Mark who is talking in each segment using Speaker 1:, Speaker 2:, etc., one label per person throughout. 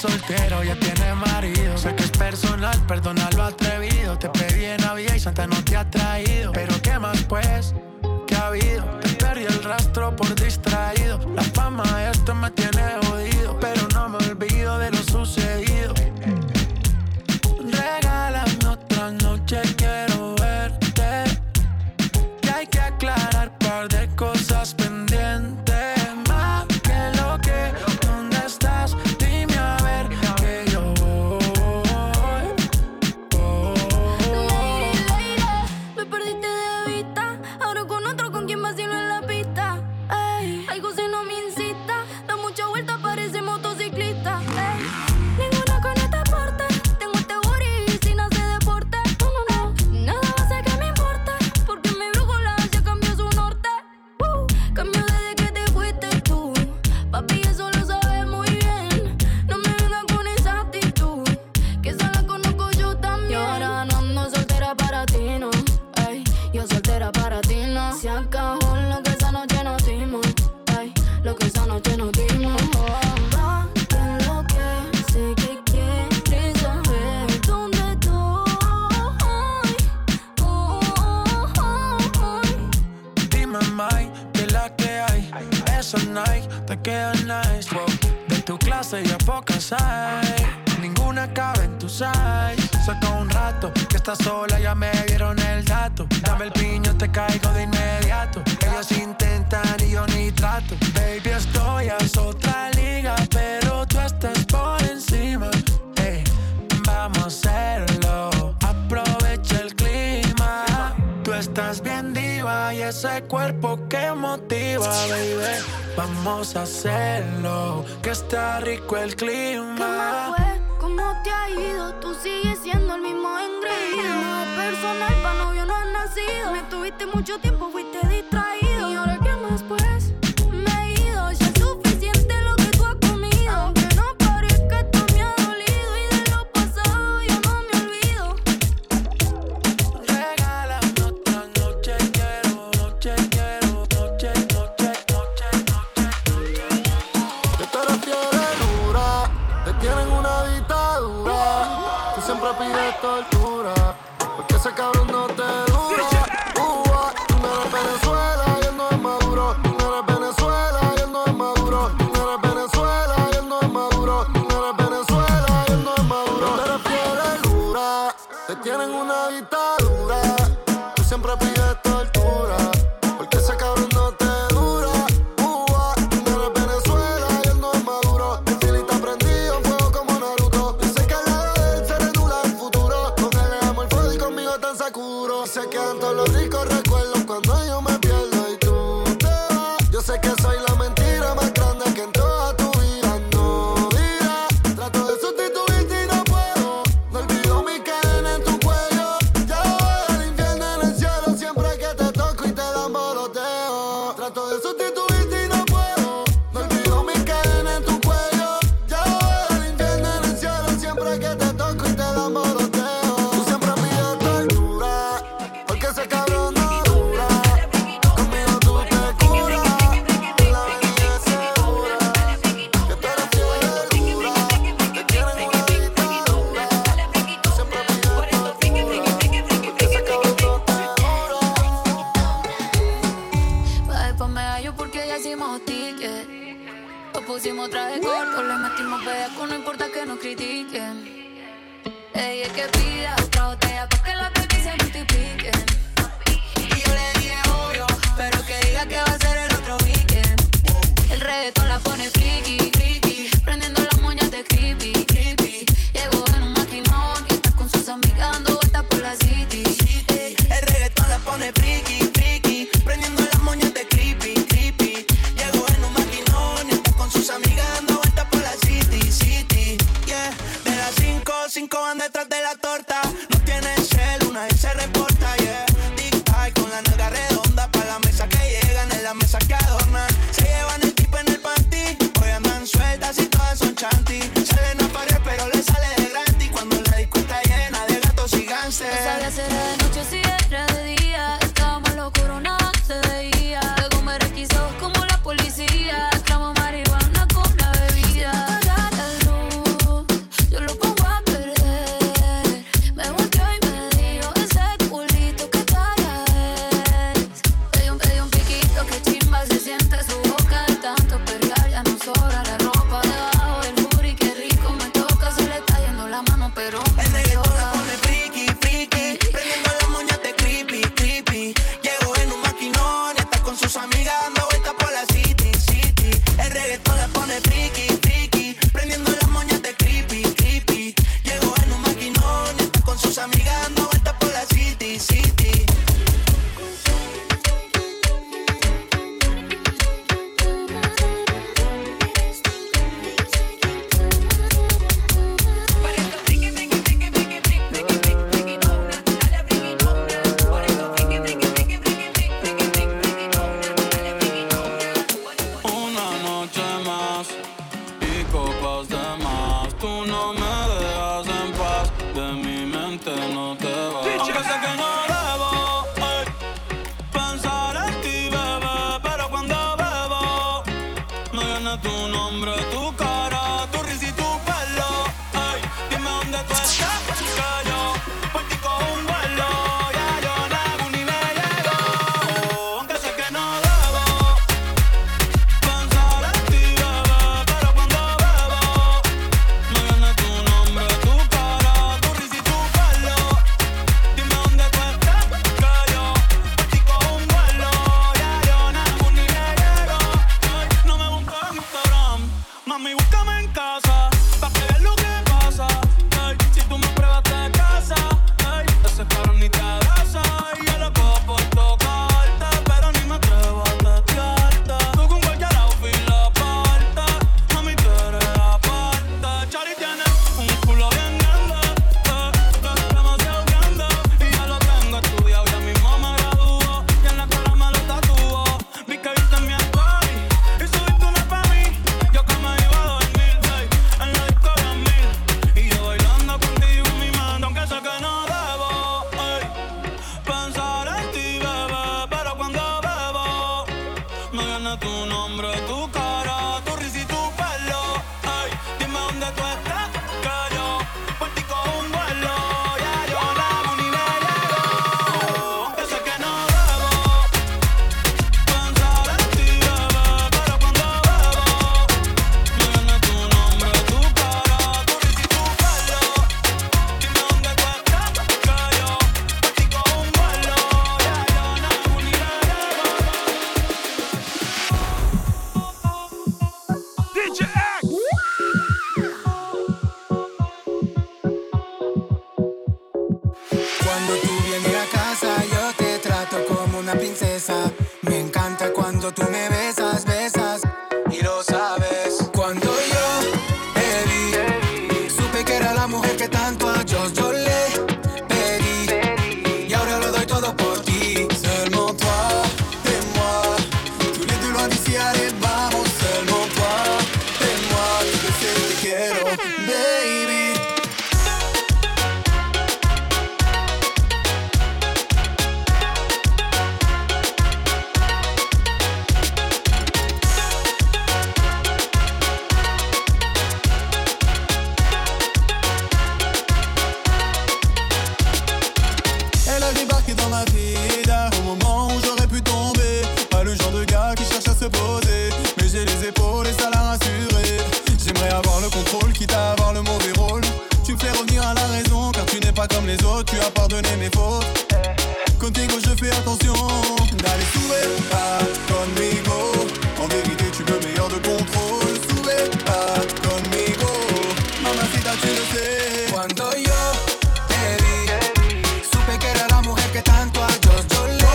Speaker 1: soltero, ya tiene marido. Sé que es personal, perdona lo atrevido. Te pedí en Navidad y Santa no te ha traído. Pero ¿qué más pues? ¿Qué ha habido? Te perdí el rastro por distraído. La fama de esto me tiene jodido, pero no me olvido de lo sucedido. Regálame otra noche, quiero verte. Y hay que aclarar un par de cosas pendientes. Más que lo que, ¿dónde estás? Dime a ver que yo voy.
Speaker 2: Me perdiste de vista. Ahora con otro, con quien vacilo en la pista. Ey, algo si no me incita. Da mucha vuelta, parece motociclista. Ey, ninguna con este porte. Tengo este booty sin hacer deporte. No, no, no, nada va a hacer que me importe. Porque mi brújula ya cambió su norte. Cambió desde que te fuiste tú. Papi, eso lo sabes muy bien. No me vengas con esa actitud, que esa la conozco yo también. Y ahora no ando soltera para ti, no. Ey, yo soltera para ti, no. Se acabó lo que esa noche nos dimos. Ey, lo que esa noche nos dimos. Va, que lo que sé que quieres saber dónde estoy.
Speaker 1: Dime, Mike, que la que hay. Esos Nike te quedan nice. Wow. De tu clase ya pocas hay. Ninguna cabe en tu size. Saca un rato que estás sola, ya me dieron el dato. Dame el piño, te caigo de inmediato. Ellos intentan y yo ni trato. Baby, estoy a otra liga, pero tú estás por encima. Ey, vamos a hacerlo. Aprovecha el clima. Tú estás bien diva y ese cuerpo que motiva, baby. Vamos a hacerlo, que está rico el
Speaker 2: ¿Qué más
Speaker 1: clima.
Speaker 2: fue? ¿Cómo te ha ido? Tú sigues siendo el mismo engreído. No es personal, pa' novio no has nacido. Me tuviste mucho tiempo, fuiste distraído. ¿Y ahora qué más pues? Me he ido, ya es suficiente lo que tú has comido. Aunque no parezca, esto me ha dolido. Y de lo pasado yo no me olvido.
Speaker 1: Regálame otra noche, quiero, noche, quiero, noche, noche, noche, noche.
Speaker 3: Que tú eres fiel y dura, te tienen una dictadura. Tú siempre pides tortura, porque ese cabrón no te dura. Tú no eres Venezuela y él no es Maduro. Tú no eres Venezuela y él no es Maduro. Tú no eres Venezuela y él no es Maduro. Tú no eres Venezuela y él no es Maduro. Tú eres fiel y dura, te tienen una dictadura. Tú siempre pides tortura, porque ese cabrón no te dura. Tú no eres Venezuela y él no es Maduro. El fili está prendido en fuego como Naruto. Yo sé que al lado de él se renula el futuro. Con él le amo el fuego y conmigo tan Sakuro. Se quedan todos los ricos recuerdos cuando yo me pierdo y tú te vas. Yo sé que soy la mentira más grande que en toda tu vida no dirás. Trato de sustituirte y no puedo. No olvido mi cadena en tu cuello. Ya voy al infierno en el cielo siempre que te toco y te dan boloteo. Trato de sustituirte y no puedo. No olvido mi cadena en tu cuello. Ya voy al infierno en el cielo siempre que te toco y te dan boloteo. Tú siempre pides tortura, porque ese cabrón no dura. Conmigo tú te curas, la avenida es segura. Que tú eres fiel y dura, te quieren una dictadura. Tú siempre pides tortura, porque ese cabrón no te dura.
Speaker 2: Pa' después me hallo porque ya hicimos ticket. Nos pusimos traje corto, le metimos pedazo, no importa que nos critiquen. Ella es que pida otra botella pa' que la baby se multiplique. Y yo le dije obvio, pero que diga que va a ser el otro weekend. El reggaetón la pone friki, friki, prendiendo las moñas de creepy, creepy. Llegó en un maquinón y está con sus amigas dando vueltas por la city.
Speaker 4: El reggaetón la pone friki, friki, prendiendo las moñas de creepy, creepy. Llegó en un maquinón y está con sus amigas dando vueltas por la city, city. Yeah, de las 5 van detrás de la torta. No tiene cel, una y se reporta, yeah. Tic-tac con la nalga redonda pa' la mesa que llegan, en la mesa que adornan. Se llevan el tipo en el panty, hoy andan sueltas y todas son chanty. Salen a parir pero le sale de gratis cuando la disco está llena de gatos y gánster.
Speaker 2: No sabía si era de noche o si era de día. Estábamos locos, nada se veía. Luego me requisó como la policía. Tramo marihuana con la bebida. Apaga la luz,
Speaker 1: gané tu nombre, tu cara, tu risa y tu pelo. Ay, dime dónde tú estás, que yo por ti cojo un vuelo. Ya yo no hago ni me llego, aunque sé que no debo pensar en ti, bebé, pero cuando bebo me gané tu nombre, tu cara, tu risa y tu pelo. Dime dónde tú estás, que yo por ti cojo un vuelo. Ya yo no hago ni me llego. Ay, no me busques en Instagram, mami, búscame en casa, pa' que veas lo que pasa. Ay, si tú me pruebas de casa, ay, ese cabrón ni te abraza. Y yo lo cojo por tocarte, pero ni me atrevo a testearte. Tú con cualquier outfit la parte, mami, tú eres aparte. Chari tiene un culo bien grande, demasiado grande. Y ya lo tengo estudiado, ya mismo me graduó. Y en la cara me lo tatuó. Vi que viste mi story y subiste una pa' mí. Yo que me iba a dormir, ey, en la disco de 1000. Y yo bailando contigo en mi mente, aunque sé que no debo, ey, pensar en ti, bebé, pero cuando bebo me gané tu nombre, tu cara, tu risa y tu pelo. Ey, dime dónde tú estás, que yo por ti cojo un vuelo. Ya yo no hago ni me llego, aunque sé que no debo pensar en ti, bebé, pero cuando bebo me gané tu nombre, tu cara, tu risa y tu pelo. Dime dónde tú estás, que yo por ti cojo un vuelo. Ya yo no hago ni me llego. DJ X.
Speaker 5: Cuando tú vienes a casa yo te trato como una princesa. Me encanta cuando tú me besas, besas y lo sabes. Cuando yo te vi, supe que era la mujer que tanto a Dios yo le pedí. Y ahora lo doy todo por ti. Seulement toi et moi, tous les deux loin d'ici, allez vamos. Seulement toi et moi, tu sais que te quiero, baby.
Speaker 6: Elle a débarqué dans ma vie au moment où j'aurais pu tomber. Pas le genre de gars qui cherche à se poser, mais j'ai les épaules et ça l'a rassuré. J'aimerais avoir le contrôle, quitte à avoir le mauvais rôle. Tu me fais revenir à la raison, car tu n'es pas comme les autres. Tu as pardonné mes fautes. Contigo je fais attention. Dale, sube pas conmigo. En vérité tu veux meilleur de contrôle. Sube pas conmigo. Mamacita, tu le sais.
Speaker 5: Cuando yo te vi, supe que era la mujer que tanto a Dios yo le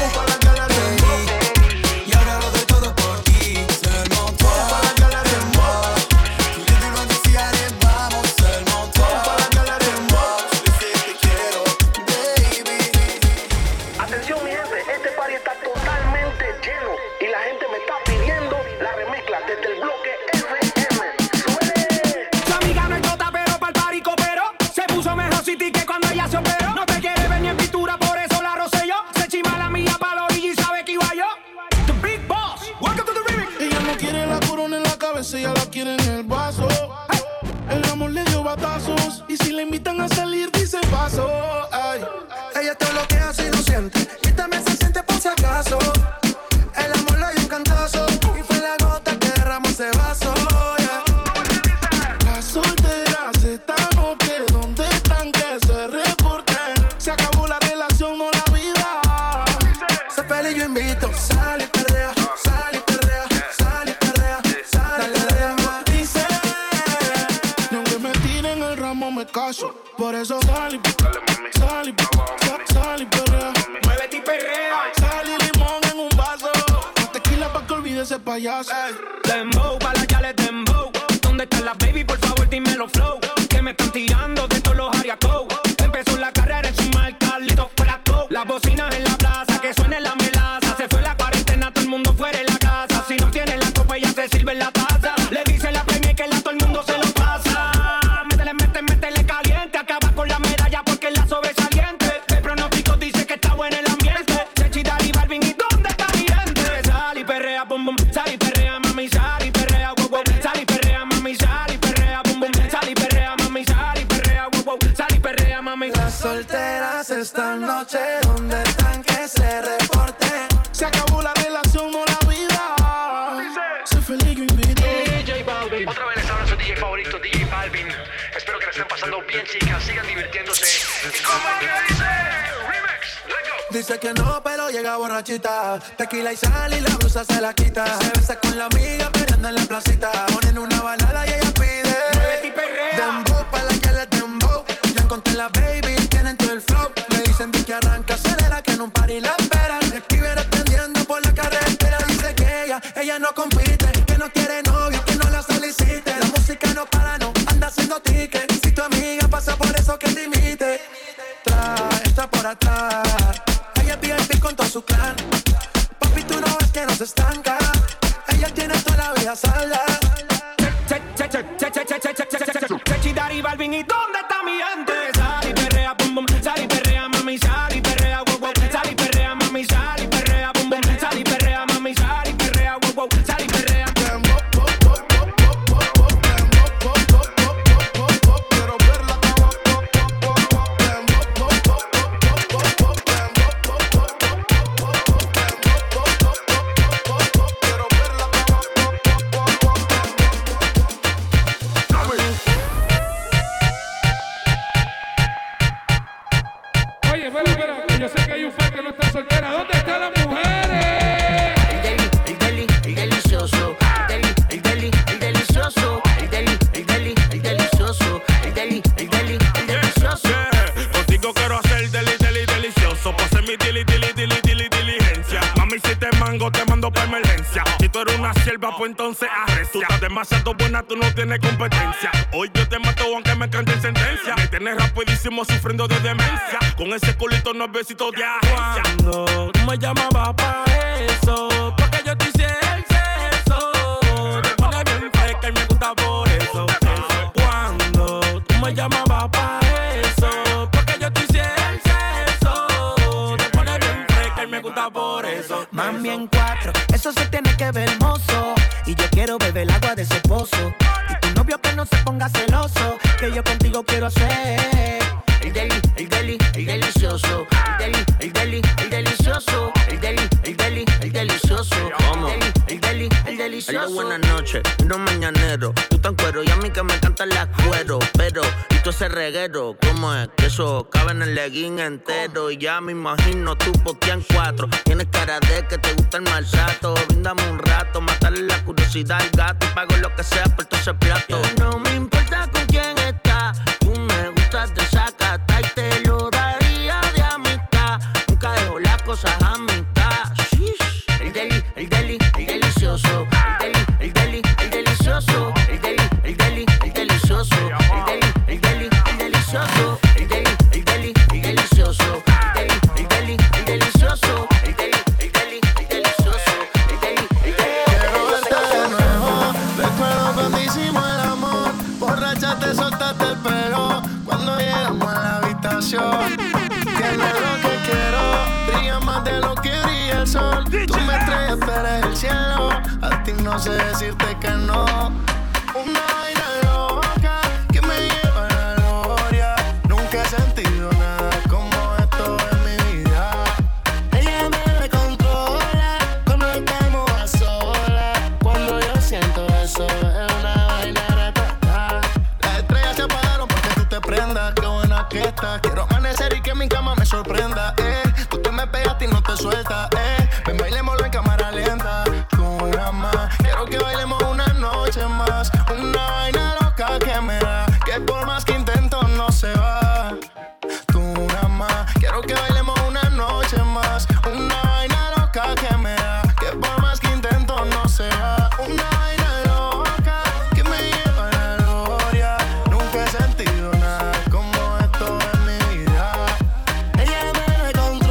Speaker 5: pedí. Y ahora lo doy todo por ti. Seulement toi et moi, tous les deux loin d'ici, allez vamos. Seulement toi et moi, je sais que te quiero, baby.
Speaker 7: Atención mi gente, este party está totalmente lleno y la gente me está pidiendo la remezcla desde el bloque FM. ¡Suene!
Speaker 8: Su amiga no es tota, pero pa'l party cooperó. Se puso mejor city que cuando ella se operó. No te quiere ver ni en pintura, por eso la rocé yo. Se chima la mía pa' la orilla y sabe que iba yo. The Big Boss, welcome to the remix.
Speaker 6: Ella no quiere la corona en la cabeza, ella la quiere en el vaso. El amor le dio batazos y si le invitan a salir dice paso. Ay.
Speaker 7: Ella todo lo que hace y lo siente y también se siente por si acaso. El amor le dio un cantazo y fue la gota que derramó ese vaso. Yeah.
Speaker 6: Las solteras están ok, ¿dónde están que se reporten? Se acabó la relación, no la vida.
Speaker 7: Se pelea y yo invito, sale y perrea, sale y perrea, sale y perrea, sale y perrea.
Speaker 6: Dice, y aunque me tiren el ramo me caso. Por eso sal y perrea.
Speaker 8: Muévete y perrea.
Speaker 6: Sal y limón en un vaso. Más tequila pa' que olvide ese payaso.
Speaker 8: Dembow, pa' la yale dembow. ¿Dónde están las baby? Por favor, dímelo flow. Que me están tirando de todos los ariacos. Empezó la carrera en su marca, listo plato. Las bocinas en la plaza, que suene la melaza. Se fue la cuarentena, todo el mundo fuera de la casa. Si no tiene la copa, ya se sirve en la taza. Le dice la premia que la todo el mundo se lo pasa. Métele caliente. Acaba con la medalla porque es la sobresaliente. El pronóstico dice que está bueno el ambiente. Chechita y Balvin, ¿y dónde está mi gente? Sal y perrea, bum bum. Sal y perrea, mami, sal y perrea, wow wow.
Speaker 1: chicas esta noche, ¿dónde están que se reporten?
Speaker 9: Se acabó la relación, no la vida. Soy feliz, yo invito.
Speaker 7: DJ Balvin. Otra vez les habla su DJ favorito, DJ Balvin. Espero que la estén pasando bien, chicas. Sigan divirtiéndose. ¿Y cómo es que dice? Remix, let's go.
Speaker 1: Dice que no, pero llega borrachita. Tequila y sal y la blusa se la quita. Se besa con la amiga, peleando en la placita. Ponen una balada y ella pide.
Speaker 8: Muévete y perrea.
Speaker 1: Dembow, pa' la que le dembow. Ya encontré la baby, tienen todo el flow. Me dicen que arranca, acelera, que en un party la esperan. Escribe atendiendo por la carretera. Dice que ella no compite, que no quiere novio, que no la solicite. La música no para, no anda haciendo ticket. Si tu amiga pasa por eso, que te imite. Está por atrás. Ella es VIP con todo su clan. Papi, tú no ves que no se estanca. Ella tiene toda la vida salda.
Speaker 8: Chechi, Dari, Balvin, ¿y dónde está mi gente? Sal y perrea, bum bum, sal y perrea, mami, sal y perrea, wow wow, sal y perrea, mami, sal y perrea, bum bum, sal y perrea, mami, sal y perrea, wow wow, sal y perrea.
Speaker 10: Espera, yo sé que hay un fan que no está soltera. ¿Dónde están las mujeres?
Speaker 4: El delicioso. El delicioso. El delicioso. El delicioso.
Speaker 11: Contigo quiero hacer delicioso. Pa' hacer mi diligencia. Mami, si te mango, te mando pa' emergencia. Si tú eres una sierva, pues entonces arrecia. Tú estás demasiado buena, tú no tienes competencia. Hoy yo te mato aunque me cante en sentencia. Me tienes rapidísimo sufriendo de demencia. Con ese culito no es besito de agencia. Cuando tú me llamabas pa' eso, porque yo te hice el sexo. Te pone bien fresca y me gusta por eso. Cuando tú me llamabas pa' eso, porque yo te hice el sexo. Te pone bien fresca y me gusta por eso.
Speaker 4: Mami en cuatro, eso se tiene que ver hermoso. Y yo quiero beber el agua de ese pozo. Y tu novio que no se ponga celoso, que yo contigo quiero hacer el delicioso. El delicioso. El delicioso.
Speaker 11: ¿Cómo?
Speaker 4: El delicioso.
Speaker 12: Buenas noches, no mañanero. Tú tan cuero y a mí que me encantan las cuero. Pero, y tú ese reguero, ¿cómo es? Que eso cabe en el legging entero. Y ya me imagino tú postean 4. Tienes cara de que te gusta el maltrato. Bríndame un rato, matarle la curiosidad al gato. Y pago lo que sea por todo ese plato. No me importa con quién estás. Tú me gustas de sacata y te lo daría de amistad. Nunca dejo las cosas a mitad. Shish.
Speaker 4: El delicioso. El delicioso. El delicioso. El delicioso. El delicioso. El delicioso.
Speaker 3: Quiero verte de nuevo. Recuerdo cuando hicimos el amor. Borracha te soltaste el pelo cuando llegamos a la habitación. Tienes lo que quiero, brilla más de lo que brilla el sol. Tú me estrellas, pero eres el cielo. A ti no sé decirte que no. Una vaina loca que me lleva a la gloria. Nunca he sentido nada como esto en mi vida. Ella me controla cuando estamos a solas. Cuando yo siento eso es una vaina retata. Las estrellas se apagaron porque tú te prendas. Qué buena que estás. Quiero amanecer y que mi cama me sorprenda. Tú te me pegaste y no te sueltas. Ven, bailémoslo en cámara lenta. Con una más. Quiero que bailemos una noche más. Una vaina loca que me da. Que por más que intento no se va. Tú nada más. Quiero que bailemos una noche más. Una vaina loca que me da. Que por más que intento no se va. Una vaina loca que me lleva a la gloria. Nunca he sentido nada como esto en mi vida. Ella me controla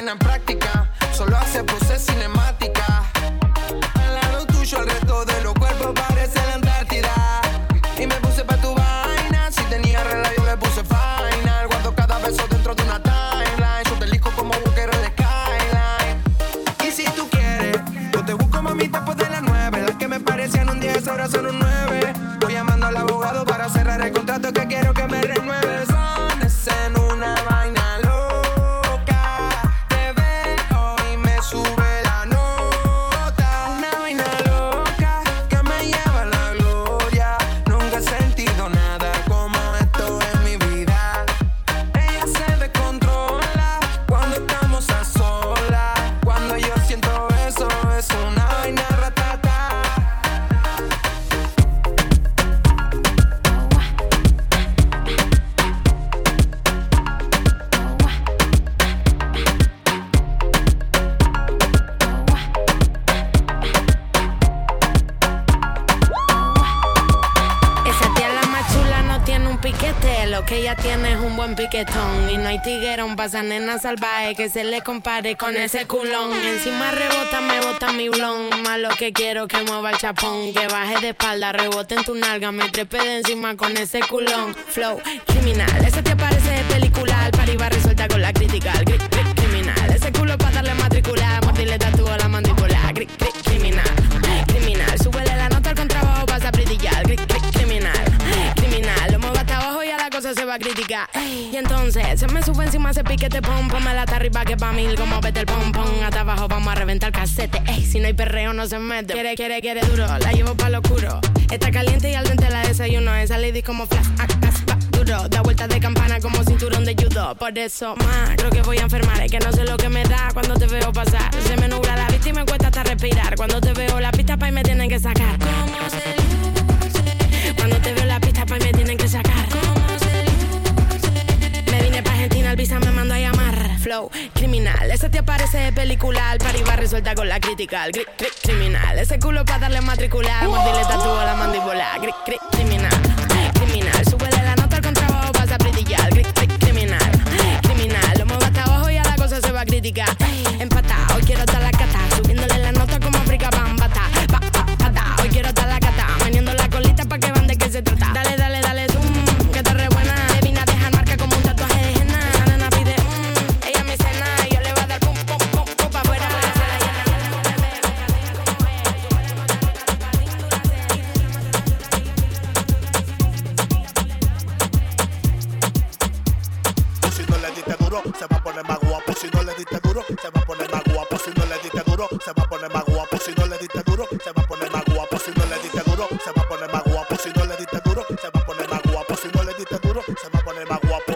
Speaker 13: tiene práctica, solo hace poses cinemática. Al lado tuyo el resto de los cuerpos parece la Antártida. Y me puse pa' tu vaina, si tenía regla yo le puse final. Guardo cada beso dentro de una timeline, yo te elijo como buquero de Skyline. Y si tú quieres, yo te busco mami después de las 9. Las que me parecían un 10 ahora son un 9. Voy llamando al abogado para cerrar el contrato que quiero que me renueves. En una vaina loca, te veo y me sube la nota. Una vaina loca que me lleva a la gloria. Nunca he sentido nada como esto en mi vida. Ella se descontrola cuando estamos a solas. Cuando yo siento eso, es una vaina ratata.
Speaker 14: Lo que ella tiene es un buen piquetón. Y no hay tiguerón pa' esa nena salvaje que se le compare con ese culón. Encima rebota, me bota mi blon. Más lo que quiero que mueva el chapón. Que baje de espalda, rebote en tu nalga. Me trepe de encima con ese culón. Flow criminal, ese te parece de película. Al pari va resuelta con la crítica. Criminal, ese culo pa' darle matricular. Mordirle tatúo a la mandíbula. Criminal, criminal. Súbele la nota al contrabajo, vas a brillar. Criminal, criminal. Lo muevo hasta abajo y a la cosa se va a criticar. Y entonces se me sube encima ese piquete pom. Pónmela hasta arriba que pa' mil como vete el pom pom. Hasta abajo vamos a reventar el casete. Ey, si no hay perreo no se mete. Quiere duro, la llevo pa' lo oscuro. Está caliente y al dente la desayuno. Esa lady como flash, duro. Da vueltas de campana como cinturón de judo. Por eso, más, creo que voy a enfermar. Es que no sé lo que me da cuando te veo pasar. Se me nubla la vista y me cuesta hasta respirar. Cuando te veo la pista pa' y me tienen que sacar. ¿Cómo se luce? Cuando te veo la pista pa' y me tienen que sacar. ¿Cómo se luce? Me vine pa' Argentina, el visa me mandó a llamar. Flow criminal, ese te aparece de película. Al pari va resuelta con la crítica. Criminal, ese culo pa' darle matricular. Mordirle tatúo a la mandíbula. Criminal, criminal. Súbele la nota al contrabajo, vas a brillar. Criminal, criminal. Lo muevo hasta abajo y a la cosa se va a criticar. Empatado, hoy quiero estar la cata. Subiéndole la nota como África Bambata. Hoy quiero estar la cata. Maniendo la colita pa' que van de qué se trata. Dale, zoom, que está re buena. Le vine a dejar marca como un tatuaje de henna. La nena pide, ella me cena. Y yo le voy a dar pum, pa' afuera.
Speaker 15: Si no le diste duro, se va a poner más guapo. Si no le diste duro, se va a poner más guapo. Si no le diste duro, se va a poner más guapo. Si no le diste duro, se va a poner más guapo. Si no le diste duro, se va a poner más guapo. Si no le diste duro, se va a poner más guapo. Si no le diste duro, se va a poner más guapo.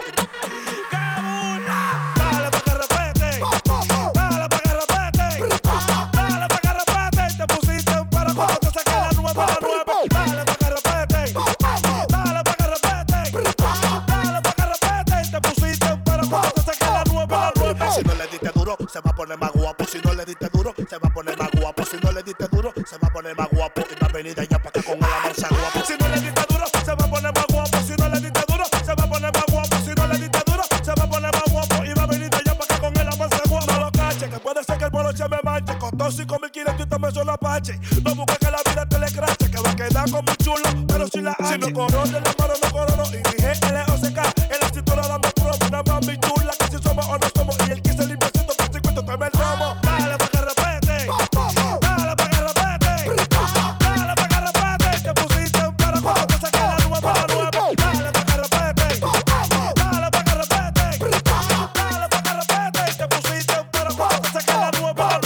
Speaker 15: Dale pa' que repete. Dale pa' que repete. Dale pa' que repete. Te pusiste para cuando te saqué la nueva. Dale pa' que repete. Dale pa' que repete. Dale pa' que repete. Te pusiste para cuando te saqué la nueva. Si no le diste duro, se va a poner más guapo. Si no le diste duro, se va a poner más guapo. Si no le diste duro, se va a poner más guapo. Y va a venir de allá para acá con la mansa guapo. Si no le diste duro, se va a poner más guapo. Si no le diste duro, se va a poner más guapo. Si no le diste duro, se va a poner más guapo. Y va a venir de allá para acá con la mansa guapo. No lo cache, que puede ser que el boloche me manche. Costó 5.500 y también son apache. No busques que la vida te le crache, que va a quedar como un chulo, pero si la hache. Si no conoce la mano, no corono. Y dije LOCK, en la cintura dame promo. Una mami chula, que si somos o no somos. Y el que se limpia haciendo por 50 tome el romo. Dale pa' que repete. Dale pa' que repete. Dale pa' que repete. Te pusiste para cuando te saqué la nueva. Dale pa' que repete. Dale pa' que repete. Dale pa' que repete. Te pusiste para cuando te saqué la nueva.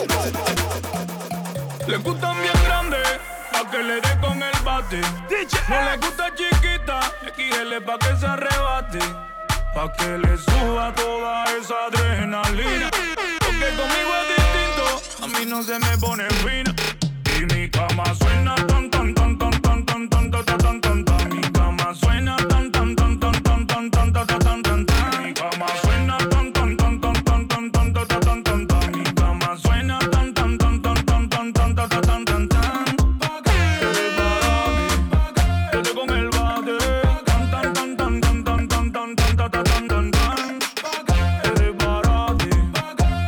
Speaker 11: Le gustan bien grandes, pa' que le dé con el bate. No le gusta chiquita, XL pa' que se arrebate. Pa' que le suba toda esa adrenalina. Porque conmigo es distinto, a mí no se me pone fina. Y mi cama suena tan tan tan tan tan tan tan tan tan tan tan. Mi cama suena tan tan tan tan tan tan tan tan tan tan tan. Mi cama suena tan tan tan tan tan tan tan tan tan tan tan. Mi cama suena tan tan tan tan tan tan tan tan tan tan tan. Estoy con el bate. Tan tan tan tan tan tan tan tan tan tan tan tan. Eres barate.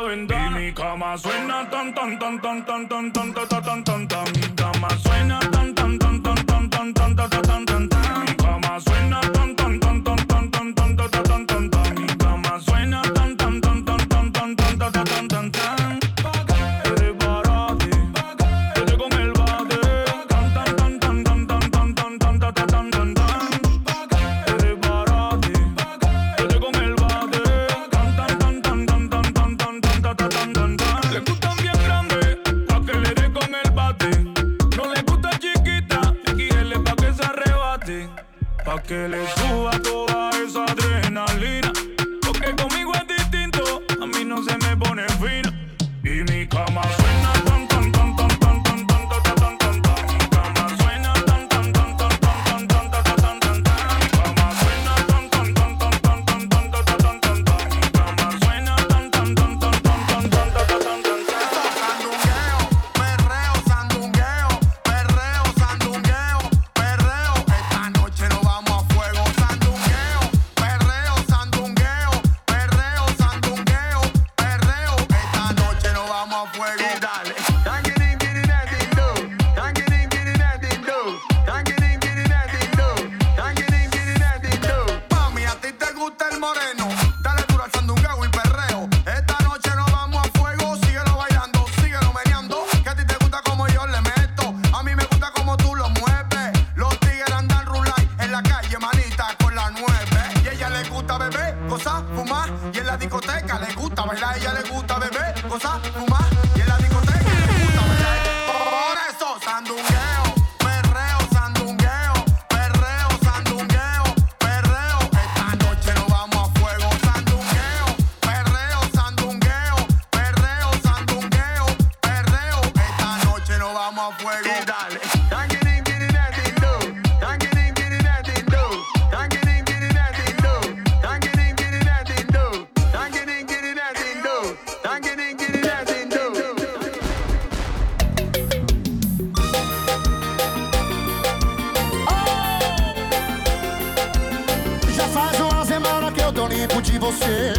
Speaker 11: ventana. Y mi cama suena tan tan tan tan tan tan tan tan tan tan tan. Mi cama suena tan tan tan tan tan tan tan tan tan tan tan. Mi cama suena tan tan tan tan tan tan tan tan tan tan tan. Mi cama suena tan tan tan tan tan tan tan tan tan tan tan. Prepárate, vete con el bate. Tan tan tan tan tan tan tan tan tan tan tan tan tan. Prepárate, vete con el bate. Tan tan tan tan tan tan tan tan tan tan tan tan. Le gustan bien grandes, pa' que le dé con el bate. No le gusta chiquita, quiere pa' que se arrebate. Pa' que le suba toda esa adrenalina. Porque conmigo es distinto, a mí no se me pone fino. Y mi cama suena tan tan tan tan tan tan tan tan tan tan. Mi cama suena tan tan tan tan tan tan tan tan tan tan. Mi cama suena tan tan tan tan tan tan tan tan tan tan. Mi cama suena tan tan tan tan tan tan tan tan tan tan.
Speaker 3: Sandungueo, perreo, sandungueo, perreo, sandungueo, perreo. Esta noche nos vamos a fuego. Sandungueo, perreo, sandungueo, perreo, sandungueo, perreo. Esta noche nos vamos a fuego. Y dale. Mami, a ti te gusta el moreno. Dale duro al sandungueo y perreo. Esta noche nos vamos a fuego. Síguelo bailando, síguelo meneando. Que a ti te gusta como yo le meto. A mí me gusta como tú lo mueves. Los tigres andan rulay en la calle, manita, con la 9. Y a ella le gusta beber, gozar, fumar. Y en la discoteca le gusta bailar. A ella le gusta beber, gozar, fumar. Y en la discoteca le gusta bailar. Por eso, sandungueo, perreo, sandungueo, perreo, sandungueo, perreo. Esta noche nos vamos a fuego. Sandungueo, perreo, sandungueo, perreo, sandungueo, perreo. Esta noche nos vamos a fuego. Y dale. Já faz uma semana que eu tô limpo de você.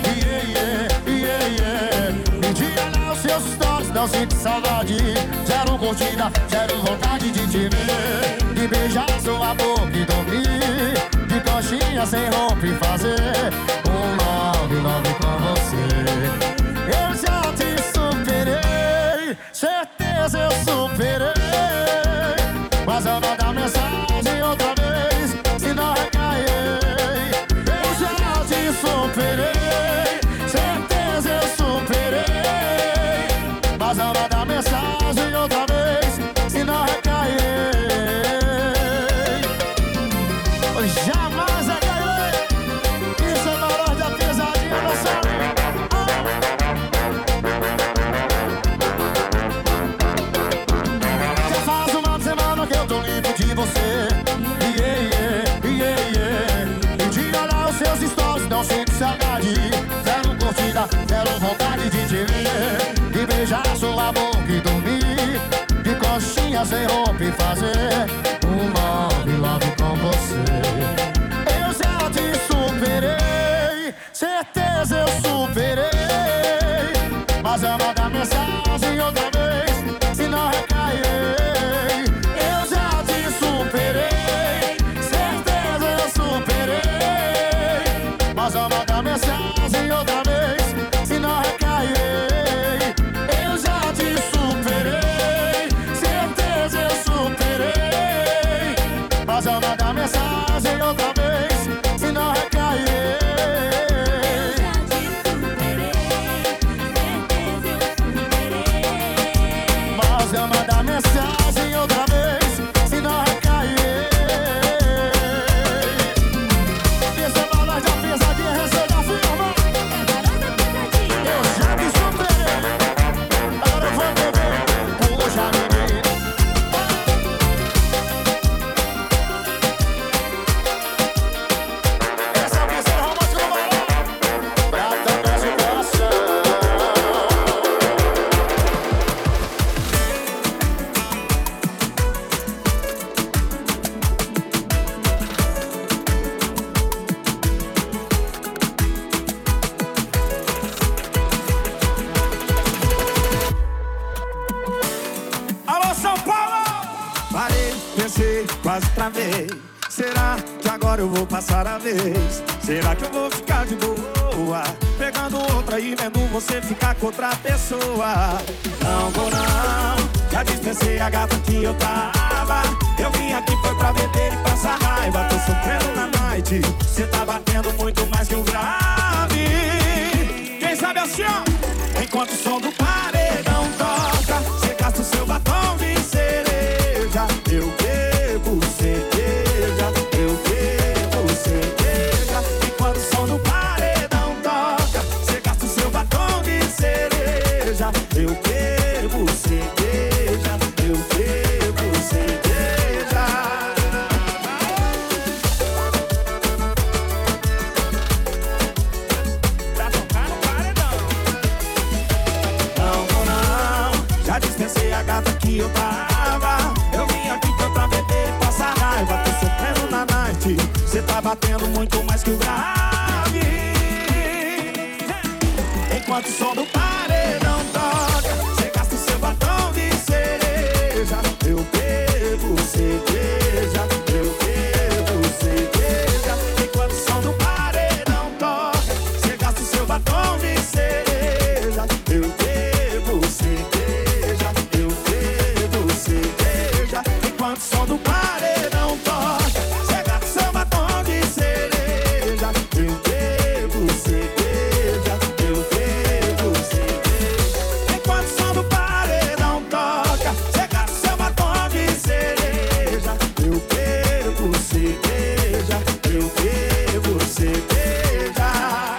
Speaker 3: Me diga lá os seus stories, não sinto saudade. Zero curtida, zero vontade de te ver. De beijar sua boca e dormir. De coxinha sem roupa e fazer love com você. Eu já te superei, certeza eu superei. Mas eu vou dar mensagem outra vez, se não recairei. Eu já te superei, certeza eu superei. Mas eu vou dar mensagem outra vez, se não recairei. Jamais recairei. Isso é valor da pesadinha, não sabe? Já faz uma semana que eu tô limpo de você. Me diga lá os seus stories, não sinto saudade. Zero curtida, zero vontade de te ver. De beijar sua boca e dormir. De coxinha sem roupa e fazer love com você. Eu já te superei, certeza eu superei. Mas eu vou dar mensagem outra vez, se não recairei. Eu já te superei, certeza eu superei. Mas eu vou dar mensagem outra vez, se não recairei. Eu já te superei, certeza eu superei. Mas eu vou dar mensagem outra vez, se não recairei. Mas eu vou dar mensagem outra vez, se não recairei. Esse é o valor da pesadinha, receita firma. Eu já te superei, agora eu vou beber, puxa menina. Esse é o terceiro romântico do balão, pra tocar esse coração.
Speaker 15: São Paulo! Parei, pensei, quase travei. Será que agora eu vou passar a vez? Será que eu vou ficar de boa? Pegando outra e vendo você ficar com outra pessoa. Não vou não, já dispensei a gata que eu tava. Eu vim aqui foi pra beber e passar raiva. Tô sofrendo na noite, cê tá batendo muito mais que o grave. Quem sabe assim, ó? Enquanto o som do paredão toca, cê gasta o seu batom de cereja. Eu bebo cerveja, eu bebo cerveja. Enquanto o som do paredão toca, cê gasta o seu batom de cereja. Eu bebo cerveja, eu bebo cerveja. Pra tocar no paredão. Não vou não, já dispensei a gata que eu tava. Eu vim aqui pra beber e passar raiva. Tô sofrendo na night, cê tá batendo muito mais que o grave. Enquanto o som do paredão toca, cê gasta o seu batom de cereja. Eu bebo cerveja, eu bebo cerveja. Enquanto o som do paredão toca, cê gasta o seu batom de cereja. Eu bebo cerveja, eu bebo cerveja. Enquanto o som do paredão toca, cê gasta o seu batom de cereja. Eu bebo cerveja, eu bebo cerveja. Enquanto o som do paredão toca, cê gasta o seu batom de cereja. Eu bebo cerveja, eu bebo cerveja.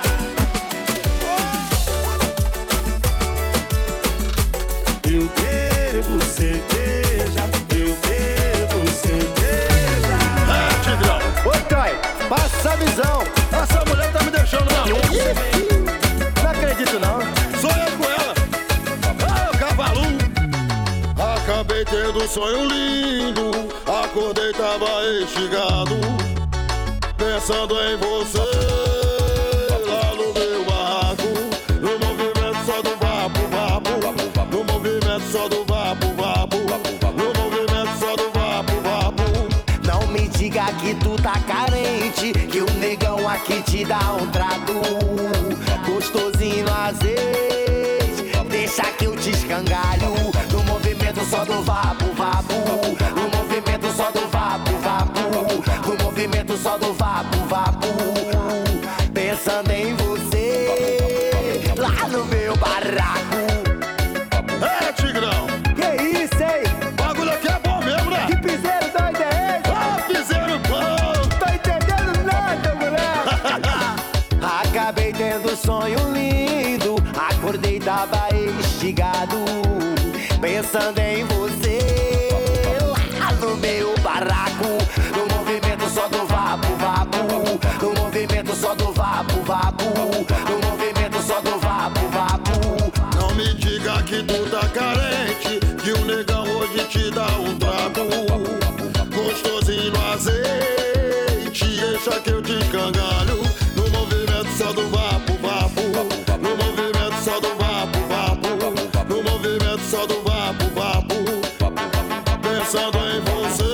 Speaker 15: Eu bebo cerveja, eu bebo cerveja.
Speaker 3: Tigrão. Oi, Caio. Passa a visão. Essa mulher tá me deixando maluco. Não acredito, não.
Speaker 15: Sou eu com ela.
Speaker 3: Ah, o cavalo.
Speaker 16: Acabei tendo um sonho lindo, acordei, tava instigado, pensando em você, lá no meu barraco, no movimento só do vapo-vapo, no movimento só do vapo-vapo, no movimento só do vapo-vapo.
Speaker 17: Não me diga que tu tá carente, que o negão aqui te dá um trato gostosinho no azeite. Deixa que eu te escangalho no movimento só do vapo-vapo, no movimento só do vapo-vapo, no movimento só do vapo-vapo. Pensando em você, lá no meu barraco.
Speaker 16: É, Tigrão.
Speaker 17: Que isso, hein?
Speaker 16: O bagulho aqui é bom mesmo, né?
Speaker 17: Que piseiro doido é esse?
Speaker 16: Ah, piseiro bom.
Speaker 17: Tô entendendo nada, moleque. Acabei tendo sonho lindo, acordei, tava instigado, pensando em você, lá no meu barraco, no movimento só do vapo-vapo, no movimento só do vapo-vapo, no movimento só do vapo-vapo.
Speaker 16: Não me diga que tu tá carente, que o negão hoje te dá um trato gostosinho no azeite. Deixa que eu te escangalho no movimento só do vapo-vapo, no movimento só do vapo-vapo, no movimento só do vapo-vapo. Pensando em você.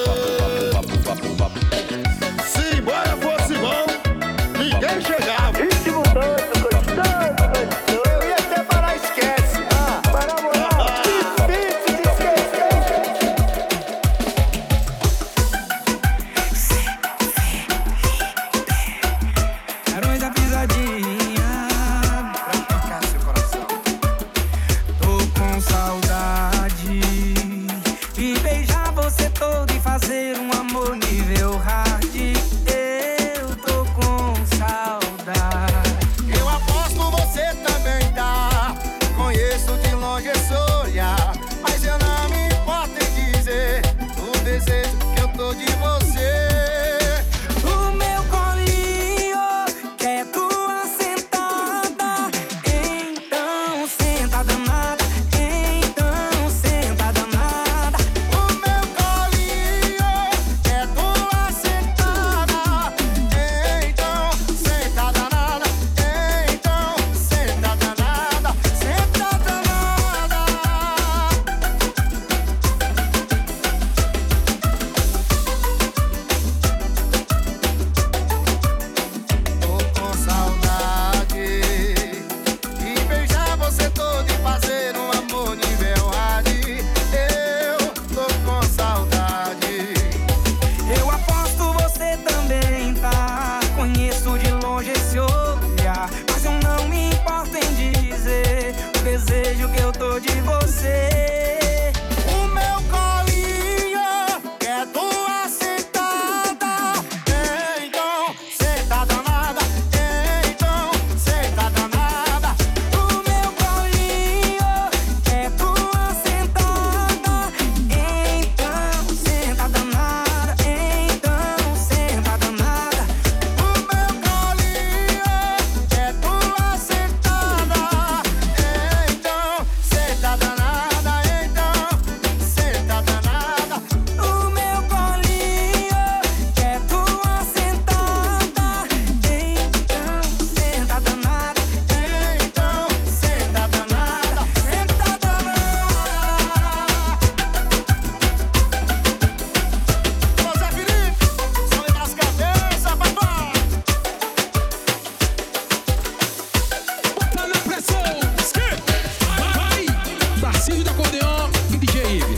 Speaker 16: Se embora fosse bom, ninguém chegava.
Speaker 17: Ritmo doido, gostoso, gostoso. Eu ia até parar, esquece. Para a moral, difícil de esquecer.
Speaker 5: Barões da pisadinha pra tocar seu coração. Tô com saudade de beijar você todo e fazer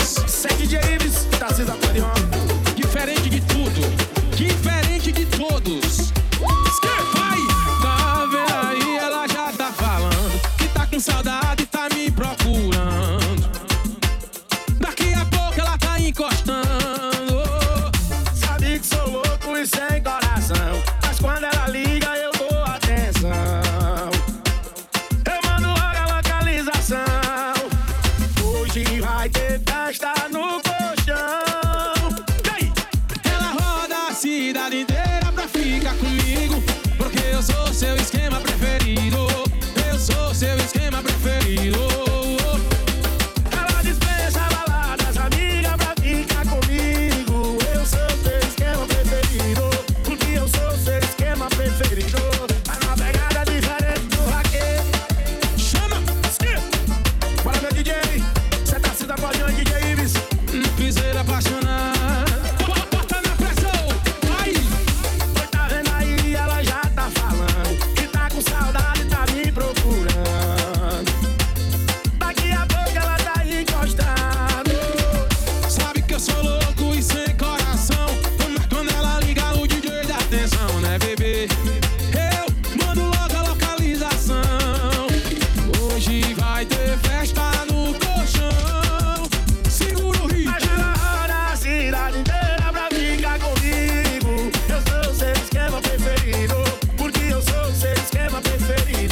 Speaker 9: todos.
Speaker 15: Segue James, tá se acordeon.
Speaker 9: Diferente de tudo, diferente de todos. Vai! Tá vendo aí, ela já tá falando que tá com saudade e tá me procurando. Daqui a pouco ela tá encostando.
Speaker 15: Sabe que sou louco e sem coração, mas quando ela liga eu dou atenção. Eu mando logo a localização. Hoje vai ter festa no colchão.
Speaker 9: Ela roda a cidade inteira pra ficar comigo, porque eu sou seu esquema preferido. Eu sou seu esquema preferido.
Speaker 15: Ela dispensa baladas, amiga, pra ficar comigo. Eu sou seu esquema preferido, porque eu sou seu esquema preferido. Tá numa pegada diferente do raquete. Chama! Bora meu DJ, cê tá se acordeando, DJ Ives.
Speaker 9: Piseira apaixonada, bota na pressão, vai!
Speaker 15: Tá vendo aí, ela já tá falando que tá com saudade, tá me procurando. Daqui a pouco ela tá encostando.
Speaker 9: Sabe que eu sou louco e sem coração, mas quando ela liga o DJ dá atenção, né, bebê? Eu mando logo a localização. Hoje vai ter festa no colchão. Segura o ritmo.
Speaker 15: Mas ela roda a cidade inteira pra ficar comigo. Eu sou seu esquema preferido, porque eu sou seu esquema preferido.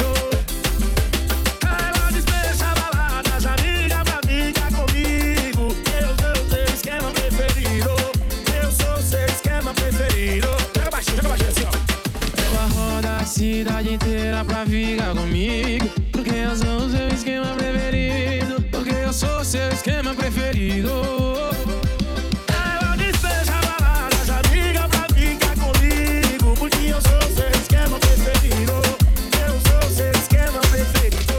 Speaker 15: Ela dispensa baladas, amiga, pra ficar comigo. Eu sou seu esquema preferido, eu sou seu esquema preferido. Joga baixinho assim, ó.
Speaker 9: Ela roda a cidade inteira pra ficar comigo, porque eu sou o seu esquema preferido. Porque eu sou o seu esquema preferido.
Speaker 15: Ela dispensa baladas, amiga, pra ficar comigo, porque eu sou seu esquema preferido. Eu sou seu esquema preferido.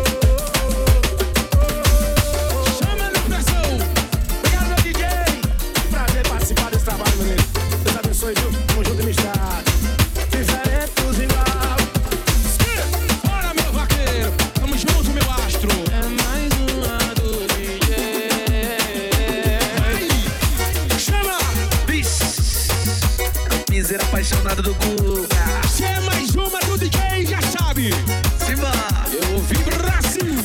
Speaker 9: Chama na pressão.
Speaker 15: Obrigado, meu DJ. Prazer participar desse trabalho, meu amigo. Deus abençoe, viu? Tamo junto e misturado. Diferentes igual.
Speaker 9: Bora, meu vaqueiro. Tamo junto, meu astro. É mais uma do DJ. Chama!
Speaker 13: Miseira apaixonada do Guga.
Speaker 9: Se é mais uma do DJ, já sabe.
Speaker 13: Simba!
Speaker 9: Eu ouvi Brasil.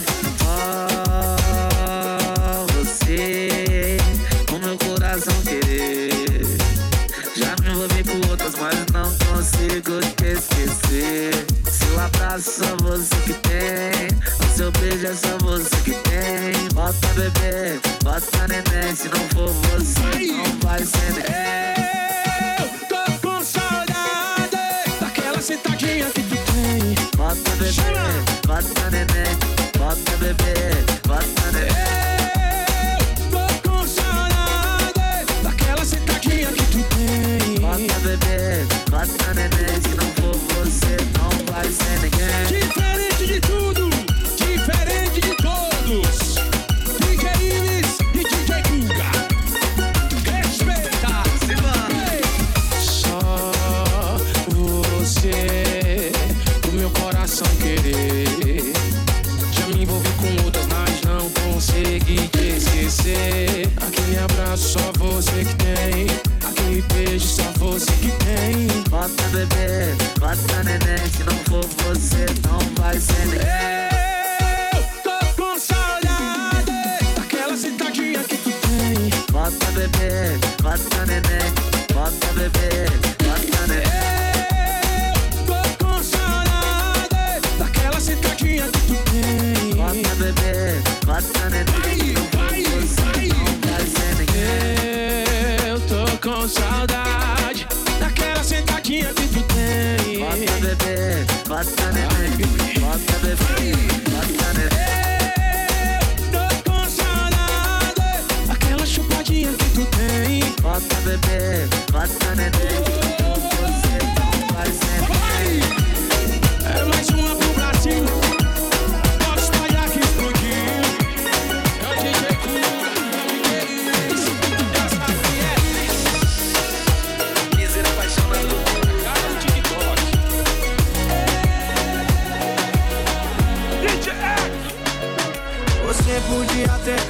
Speaker 13: Você, o meu coração querer. Já me envolvi com outras, mas não consigo te esquecer. Seu abraço só você que tem, o seu beijo é só você que tem. Bota bebê, bota neném, se não for você, não vai ser neném.
Speaker 9: Eu tô com saudade daquela sentadinha que tu tem.
Speaker 13: Bota bebê, bota neném, bota bebê, bota neném.
Speaker 9: Eu tô com saudade daquela sentadinha que tu tem.
Speaker 13: Bota bebê, bota neném, se não for você, não vai ser ninguém.
Speaker 9: Diferente de tudo, diferente de todos. DJ Ives e DJ Guga. Respeita. Só você, o meu coração querer. Já me envolvi com outras, mas não consegui te esquecer. Aquele abraço só você que tem, aquele beijo só você que tem.
Speaker 13: Bota bebê, bota neném, se não for você, não vai ser ninguém.
Speaker 9: Eu tô com saudade daquela sentadinha que tu tem.
Speaker 13: Bota bebê, bota neném, bota bebê, bota neném.
Speaker 9: Eu tô com saudade daquela sentadinha que tu tem.
Speaker 13: Bota bebê, bota neném,
Speaker 9: vai, vai,
Speaker 13: não vai ser ninguém.
Speaker 9: Eu tô com saudade daquela sentadinha que tu tem.
Speaker 13: Bota bebê, bota neném, bota bebê, bota neném.
Speaker 9: Tô com saudade daquela chupadinha que tu tem.
Speaker 13: Bota bebê, bota neném, você não vai ser ninguém.
Speaker 9: É mais uma pro Brasil. Pode espalhar que explodiu. É o DJ Guga, já sabe que é.
Speaker 13: Miseira apaixonada.
Speaker 9: Cara do TikTok.
Speaker 15: Você podia ter capricho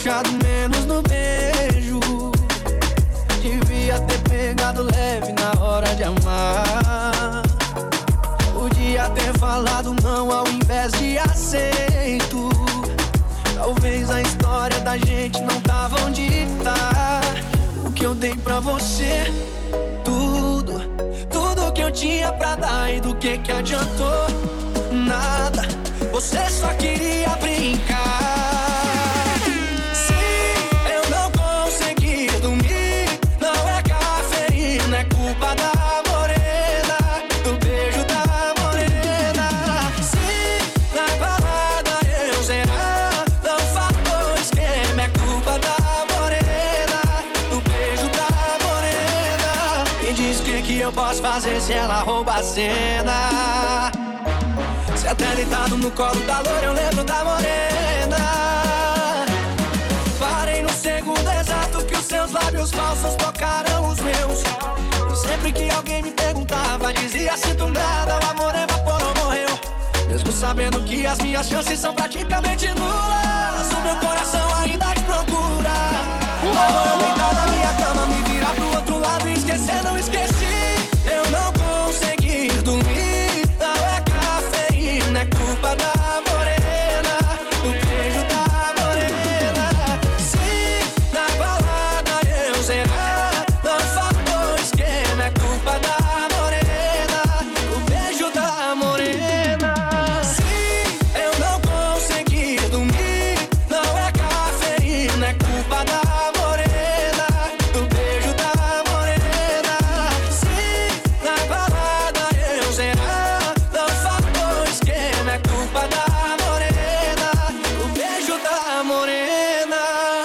Speaker 18: puxado menos no beijo. Devia ter pegado leve na hora de amar. Podia ter falado não ao invés de aceito. Talvez a história da gente não tava onde tá. O que eu dei pra você, tudo que eu tinha pra dar. E do que adiantou? Nada, você só queria brincar. Sim, eu não consegui dormir. Não é cafeína, é culpa da morena, do beijo da morena. Sim, na balada eu zerar, não faltou esquema, é culpa da morena, do beijo da morena. Me diz o que eu posso fazer se ela rouba a cena. Se até deitado no colo da loura eu lembro da morena. Parei no segundo exato que os seus lábios falsos tocaram os meus. E sempre que alguém me perguntava, dizia sinto nada, o amor evaporou, morreu. Mesmo sabendo que as minhas chances são praticamente nulas, o meu coração ainda te procura. Agora deitar na minha cama, me virar pro outro lado e esquecer, não esqueci. Eu não consegui dormir, não é cafeína, é culpa da morena, do beijo da morena. Sim, na balada eu zerar, não faltou esquema, é culpa da morena, do beijo da morena. Sim, eu não consegui dormir, não é cafeína, é culpa da morena, do beijo da morena. Sim, na balada eu zerar, não faltou esquema, é culpa da morena, do beijo da morena.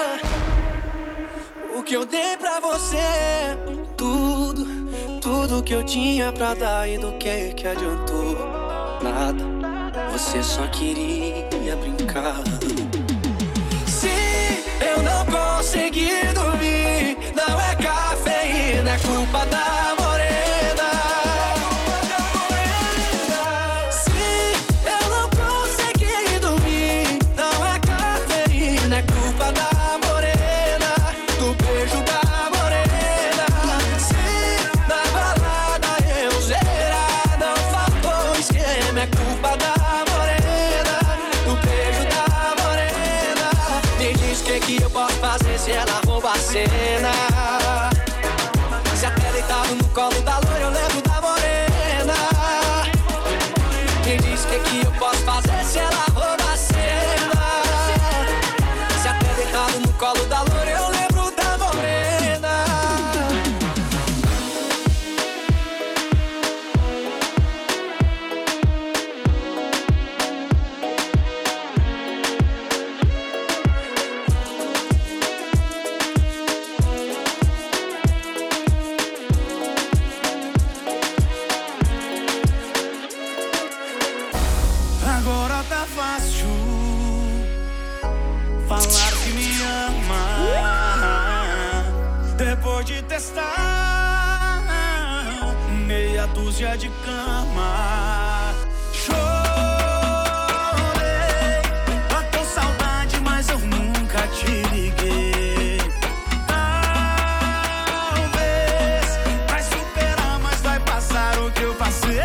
Speaker 18: O que eu dei pra você, tudo que eu tinha pra dar. E do que adiantou? Nada, você só queria brincar. Sim, eu não consegui dormir, não é cafeína, é culpa da morena. Sim, eu não consegui dormir, não é cafeína, é culpa da morena, do beijo da morena. Sim, na balada eu zerar, não faltou esquema, é culpa da morena, do beijo da morena. Me diz o que eu posso fazer se ela rouba a cena. Se até deitado no colo da loira eu lembro da morena. Me diz o que eu posso fazer se ela rouba a cena. Se até deitado no colo da loira eu lembro da morena.
Speaker 19: Agora tá fácil falar que me ama. Depois de testar meia dúzia de cama. Chorei, tô com saudade, mas eu nunca te liguei. Talvez vai superar, mas vai passar o que eu passei.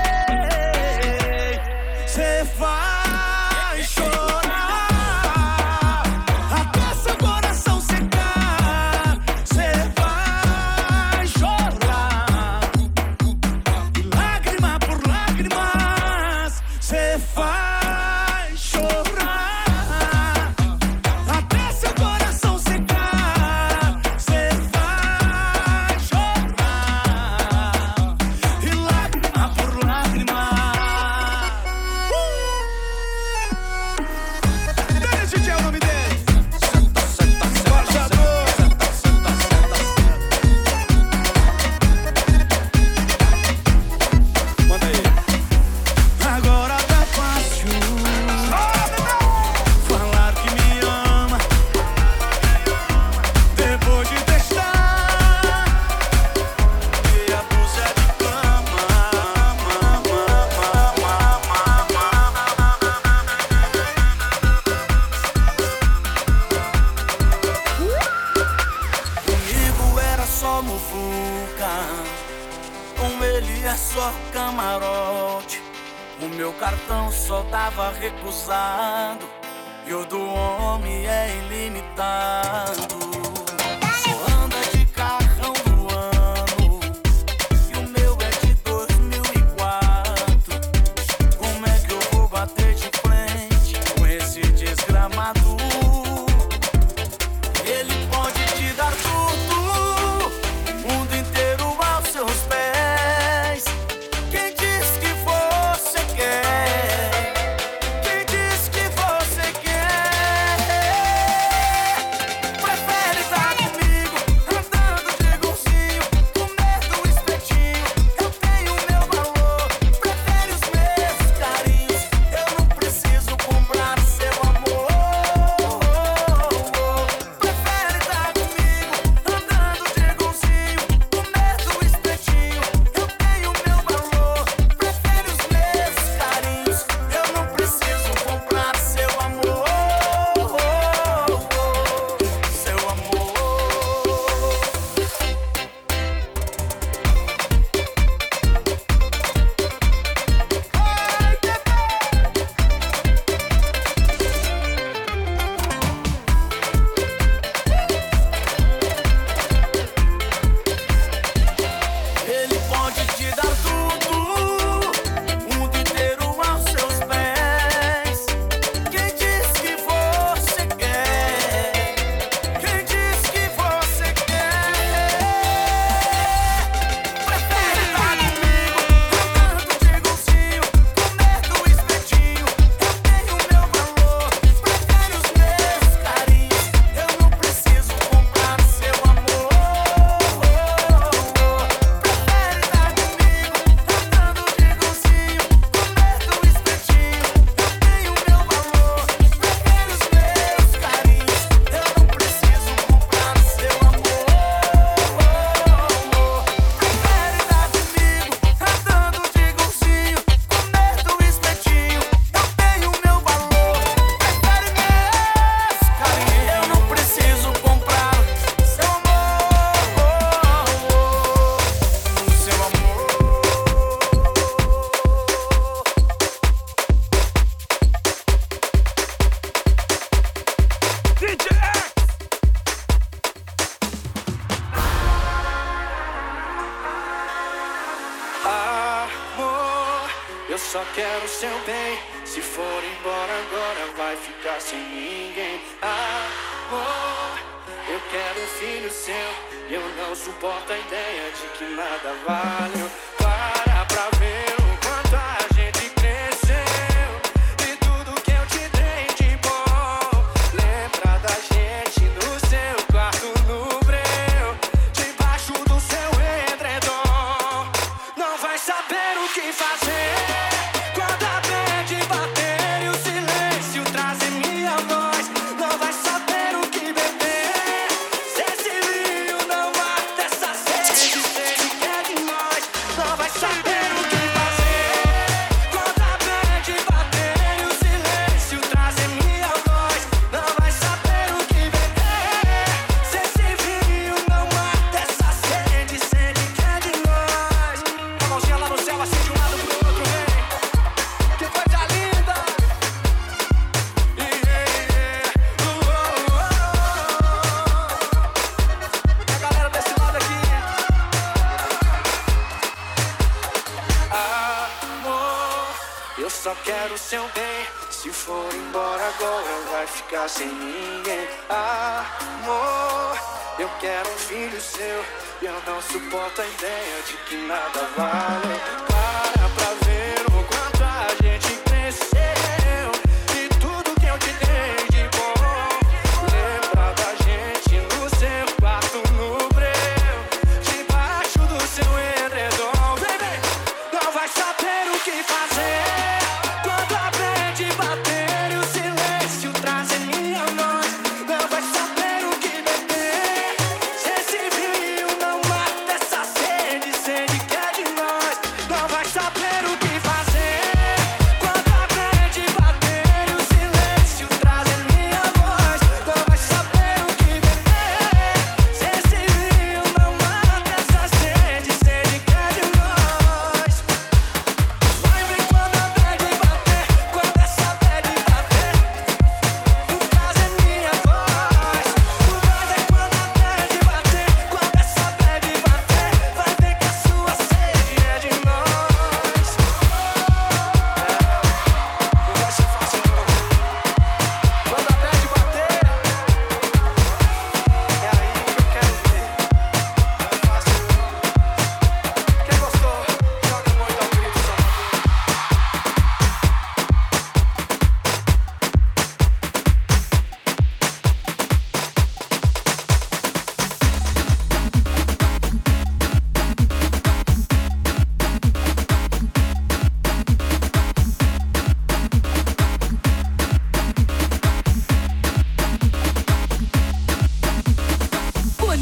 Speaker 19: Cê vai chorar até seu coração secar. Cê vai chorar, lágrima por lágrima. é só camarote. O meu cartão só tava recusado e o do homem é ilimitado. Só anda de carrão do ano e o meu é de 2004. Como é que eu vou bater de frente com esse desgramado? Ele pode te dar tudo, o mundo inteiro aos seus pés. Quem diz que você quer? Quem diz que você quer? Prefere estar comigo, andando de golzinho, comendo espetinho. Eu tenho meu valor, prefere os meus carinhos. Eu não preciso comprar seu amor. Prefere estar comigo, andando de golzinho, comendo espetinho. Eu tenho meu valor, prefere os meus carinhos. Eu não preciso comprar seu amor. Seu amor. Ele pode te dar tudo, o mundo inteiro aos seus pés. Quem diz que você quer? Quem diz que você quer? Prefere estar comigo, andando de golzinho, comendo espetinho. Eu tenho meu valor, prefere os meus carinhos. Eu não preciso comprar seu amor. Prefere estar comigo, andando de golzinho, comendo espetinho. Eu tenho meu valor, prefere os meus carinhos. Eu não preciso comprar seu amor. Prefere estar comigo, andando de golzinho, comendo espetinho. Eu tenho meu valor, prefere meus carinhos. Eu não preciso comprar seu amor. Seu amor. DJ X.
Speaker 18: Amor, eu só quero seu bem. Se for embora agora, vai ficar sem ninguém. Amor, eu quero um filho seu. Eu não suporto a ideia de que nada vale. Para pra ver o quanto a gente cresceu e tudo que eu te dei de bom. Lembra da gente no seu quarto no breu, debaixo do seu edredom. Não vai saber o que fazer quando a bad bater e o silêncio trazer minha voz. Não vai saber o que beber se esse rio não mata essa sede, sede que é de nós. Não vai saber o que fazer quando a bad bater e o silêncio trazer minha voz. Não vai saber o que beber se esse rio não mata essa sede, sede que é de nós. A mãozinha lá no céu, assim de um lado pro outro, vem. Que coisa linda. A galera desse lado aqui. Amor, eu só quero seu bem. Se for embora agora, vai ficar sem ninguém. Amor, eu quero um filho seu. Eu não suporto a ideia de que nada vale. Para pra ver o quanto a gente cresceu e tudo que eu te dei de bom. Lembra da gente no seu quarto no breu, debaixo do seu edredom. Baby, não vai saber o que fazer quando a bad bater e o silêncio trazer minha voz. Não vai saber o que beber se esse rio não mata essa sede, sede que é de nós. Não vai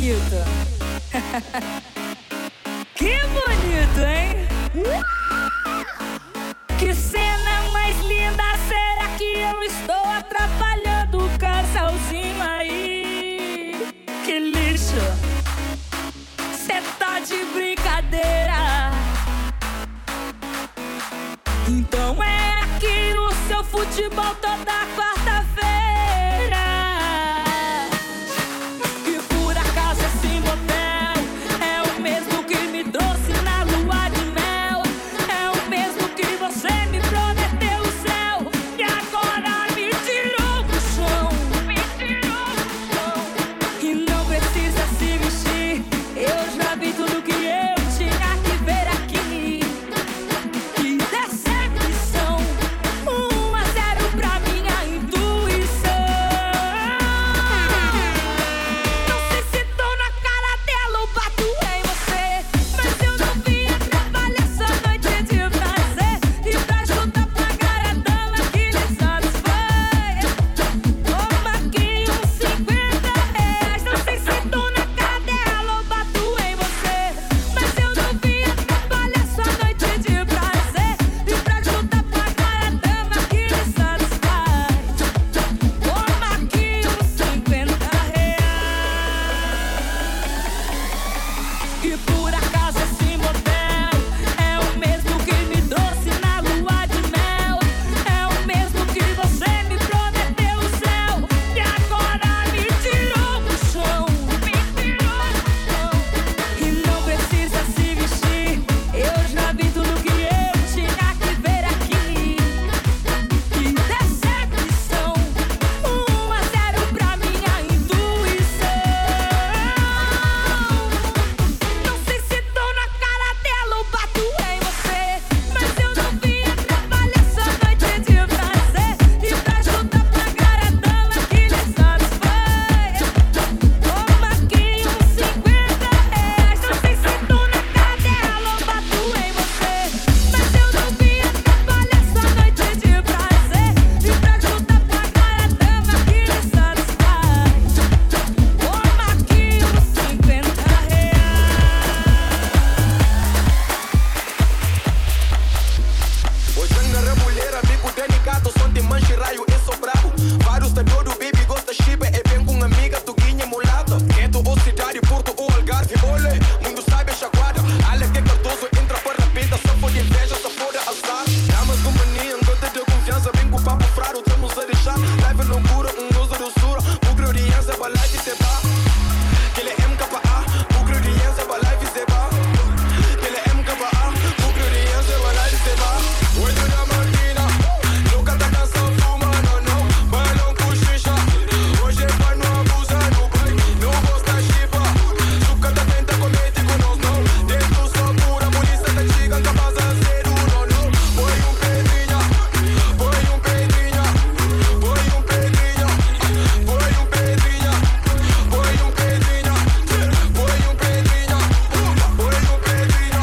Speaker 20: bonito. Que bonito, hein? Que cena mais linda, será que eu estou atrapalhando o casalzinho aí? Que lixo, cê tá de brincadeira. Então é aqui o seu futebol toda quarta-feira. E por acaso esse motel é o mesmo que me trouxe na lua de mel. É o mesmo que você me prometeu o céu. E agora me tirou do chão. Me tirou do chão. E não precisa se vestir, eu já vi tudo que eu tinha que ver aqui. Que decepção, 1-0 pra minha intuição. Não sei se tô na cara dela ou bato em você, mas eu não vim atrapalhar essa noite de prazer. E pra juntar pagar a dama que lhe satisfaz. Toma aqui uns R$50. Não sei se tô na cara dela ou bato em você, mas eu não vim atrapalhar essa noite de prazer. E pra juntar pagar a dama que lhe satisfaz. Toma aqui uns R$50. E por acaso esse motel é o mesmo que me trouxe na lua de mel. É o mesmo que você me prometeu o céu. E agora me tirou do chão. Me tirou do chão. E não precisa se vestir, eu já vi tudo que eu tinha que ver aqui. Que decepção, 1-0 pra minha intuição. Não sei se tô na cara dela ou bato em você, mas eu não vim atrapalhar essa noite de prazer. E pra juntar pagar a dama que lhe satisfaz. Toma aqui uns R$50. Não sei se tô na cara dela ou bato em você, mas eu não vim atrapalhar essa noite de prazer. E pra juntar pagar a dama que lhe satisfaz. Toma aqui uns R$50.
Speaker 13: Hoje na rebulheira, bico delicado, som de manche, raio e sobrado. Vários da todo baby gosta chiba, é bem com amiga, tuguinha mulata. Quento ou cidade, Porto ou Algarve, olê, mundo sabe a chaguada. Alex que Cardoso entra para rapida, só for de inveja, só for de azar. Damas com mania, gota de confiança, vem com papo frado, estamos a deixar. Live loucura, uso doçura, o gloriança, vai live se vá. Que ele é MKA, o gloriança, vai live se vá. Que ele é MKA, o gloriança, vai live se vá. Hoje na Martina, nunca tá cansado, fuma, não, vai não cochicha. Hoje vai no abusa, no pai, não gosta chipa. Suca tá tenta comete com nós, não. Dentro só pura, polícia tá chegando, capaz a ser não. Põe pedrinha, põe pedrinha, põe pedrinha, põe pedrinha, põe pedrinha, põe pedrinha, põe pedrinha, põe pedrinha.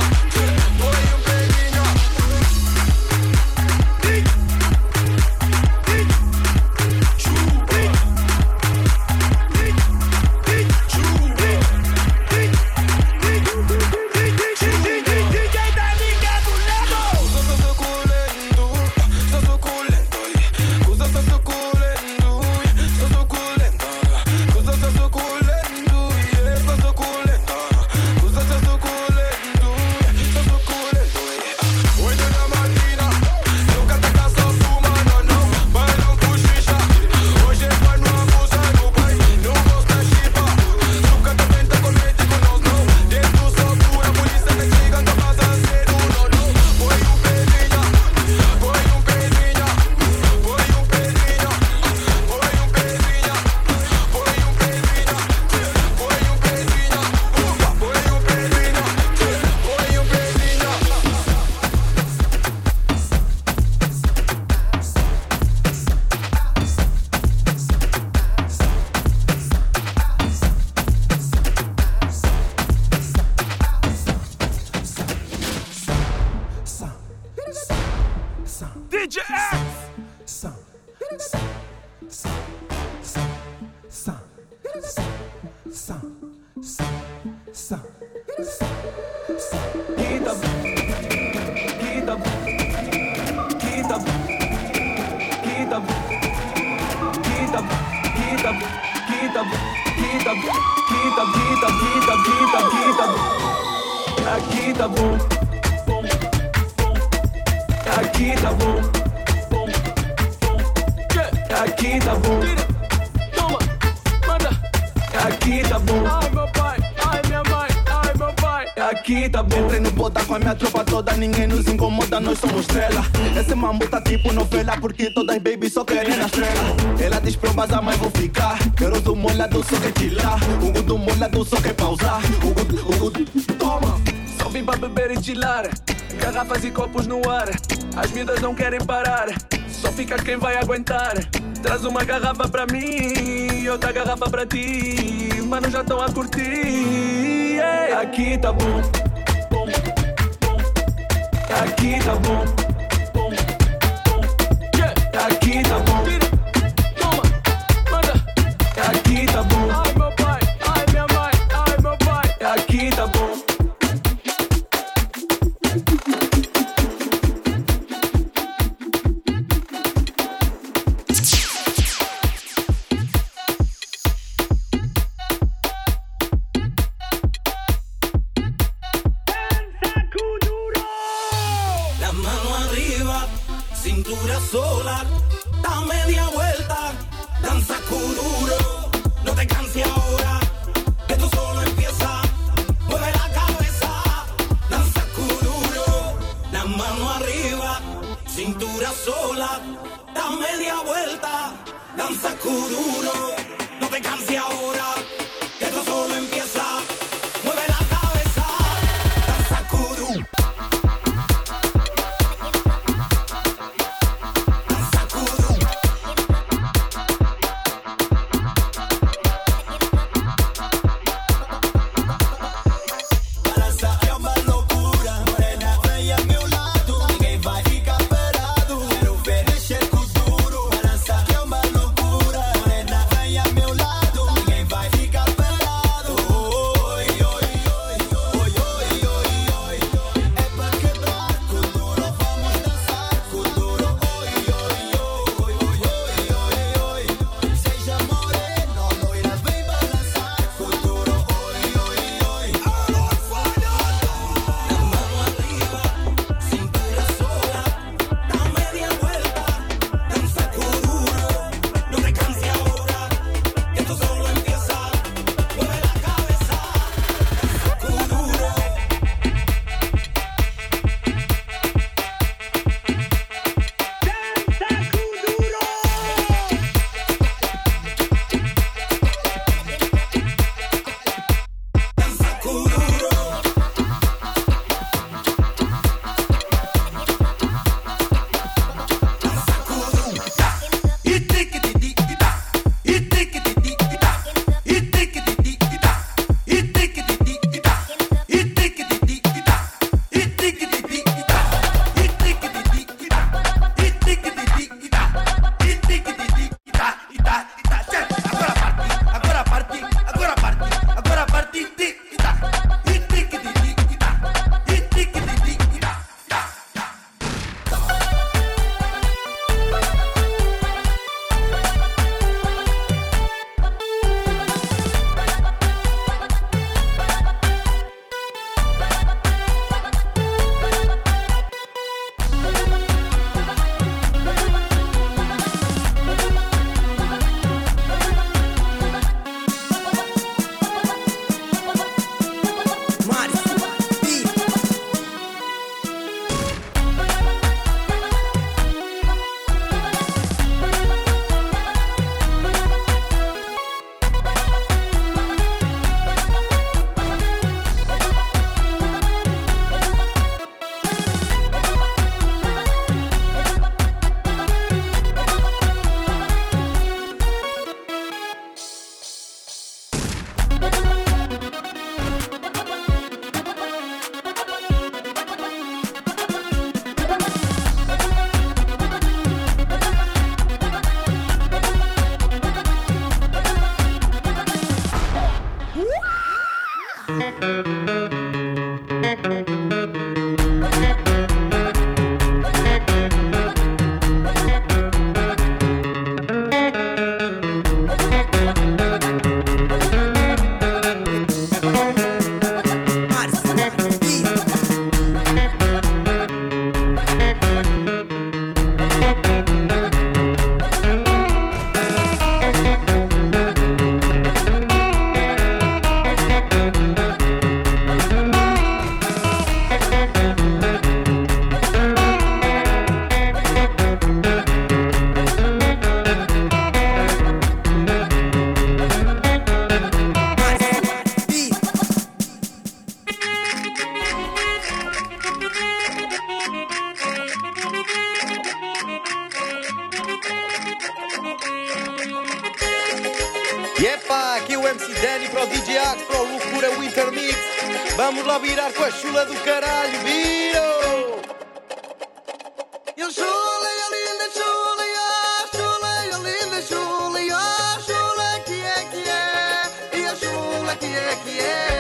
Speaker 11: DJ X.
Speaker 18: Aqui tá bom, aqui tá bom, aqui tá bom. Toma, manda. Aqui tá bom. Ai meu pai, ai minha mãe, ai meu pai. Aqui tá bom.
Speaker 21: Entrei no bota com a minha tropa toda, ninguém nos incomoda, nós somos estrela. Esse mambo tá tipo novela, porque todas baby só querem na estrela. Ela diz pra eu vazar, mas vou ficar. Quero do molhado, só que tirar. O do molhado, só que pausar. Toma.
Speaker 18: Só vim pra beber e chilar. Garrafas e copos no ar. As miúdas não querem parar. Só fica quem vai aguentar. Traz uma garrafa pra mim e outra garrafa pra ti. Mano, já estão a curtir. Yeah. Aqui tá bom. Aqui tá bom. Yeah. Aqui tá bom. Toma, manda. Aqui tá bom. Ai meu pai, ai minha mãe, ai meu pai. Aqui tá bom.
Speaker 4: Cintura sola, da media vuelta, danza kuduro, no te canses ahora, esto solo empieza, mueve la cabeza, danza kuduro, la mano arriba, cintura sola, da media vuelta, danza kuduro, no te canses ahora, esto solo empieza, mueve la cabeza, danza kuduro.
Speaker 21: Loucura, morena,
Speaker 2: Epá, aqui o MC Danny para o DJ Axe, para o Loucura Winter Mix. Vamos lá virar com a chula do caralho, viro!
Speaker 22: Eu chula, eu linda chula, eu chula, eu linda chula, eu chula que é, e a chula que é.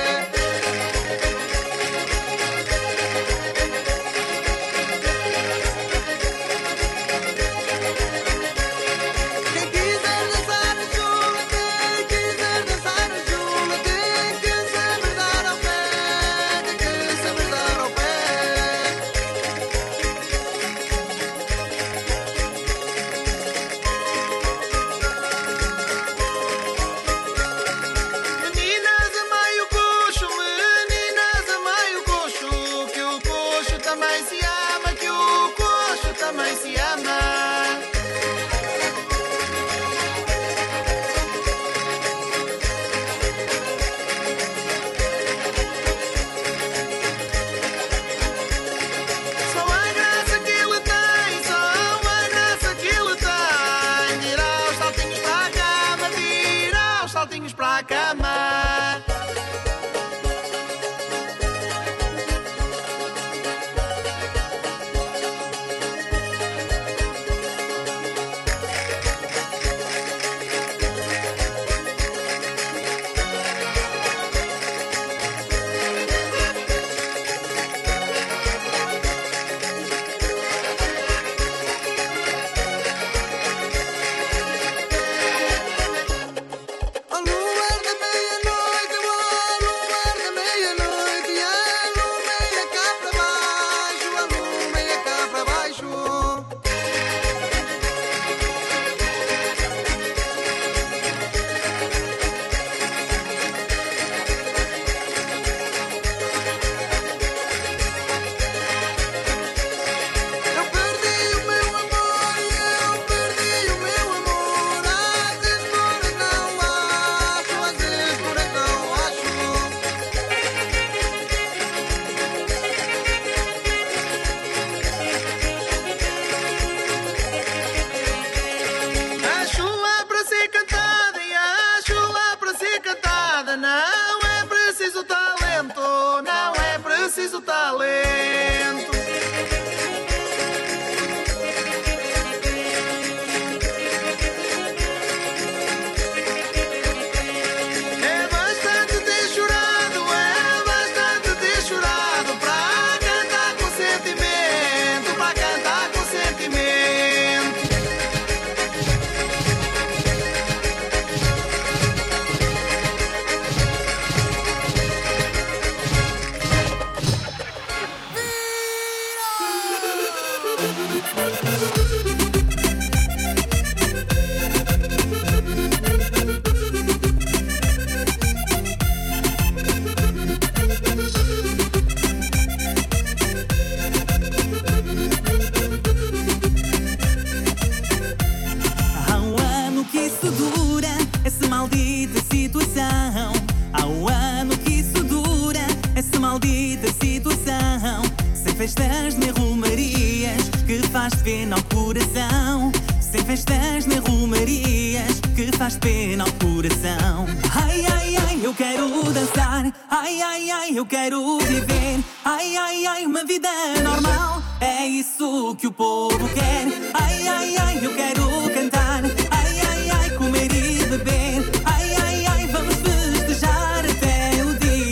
Speaker 23: festas nem rumarias que faz pena ao coração. Sem festas nem rumarias que faz pena ao coração. Ai, ai, ai, eu quero dançar. Ai, ai, ai, eu quero viver. Ai, ai, ai, uma vida normal. É isso que o povo quer. Ai, ai, ai, eu quero cantar. Ai, ai, ai, comer e beber. Ai, ai, ai, vamos festejar até o dia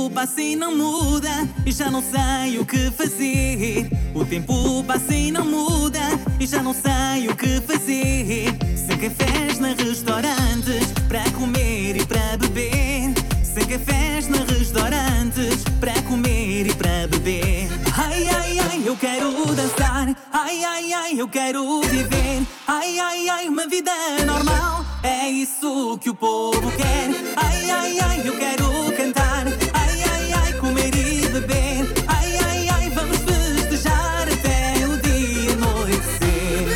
Speaker 23: tempo passa e não muda e já não sei o que fazer. O tempo passa e não muda e já não sei o que fazer. Sem cafés nem restaurantes para comer e para beber. Sem cafés nem restaurantes para comer e para beber. Ai, ai, ai, eu quero dançar. Ai, ai, ai, eu quero viver. Ai, ai, ai, uma vida normal. É isso que o povo quer. Ai, ai, ai, eu quero cantar. Ai, ai, ai, comer e beber. Ai, ai, ai, vamos festejar até o dia anoitecer.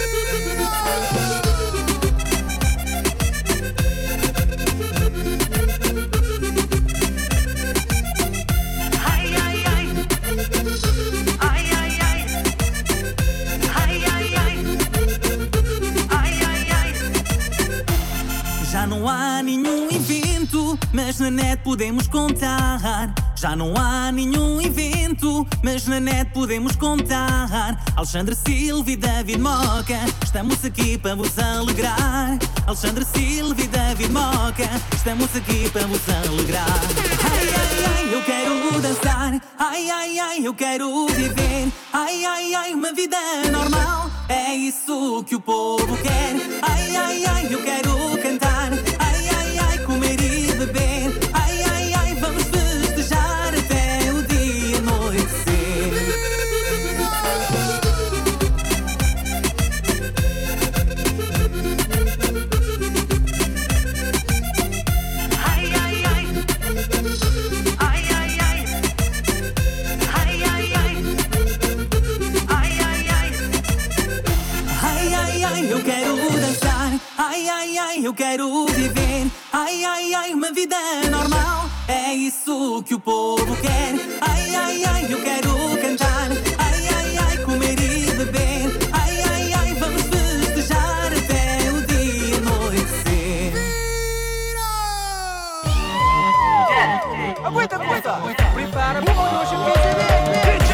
Speaker 20: Ai, ai, ai. Ai, ai, ai. Ai, ai, ai. Ai, ai, ai.
Speaker 23: Já não há nenhum evento, mas na net podemos contar. Já não há nenhum evento, mas na net podemos contar. Alexandre Silva e David Moca, estamos aqui para vos alegrar. Alexandre Silva e David Moca, estamos aqui para vos alegrar. Ai, ai, ai, eu quero dançar. Ai, ai, ai, eu quero viver. Ai, ai, ai, uma vida normal. É isso que o povo quer. Ai, ai, ai, eu quero cantar. Ai, ai, ai, comer e beber. Ai, ai, ai, vamos festejar até o dia anoitecer.
Speaker 20: Ai, ai, ai. Ai, ai, ai. Ai, ai, ai. Ai, ai, ai.
Speaker 23: Ai, ai, ai, eu quero dançar. Ai, ai, ai, eu quero viver. Ai, ai, ai, uma vida normal. É isso que o povo quer. Ai, ai, ai, eu quero cantar. Ai, ai, ai, comer e beber. Ai, ai, ai, vamos festejar até o dia anoitecer.
Speaker 1: Aguenta, aguenta. Prepara para o nosso casamento.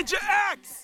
Speaker 11: DJ X.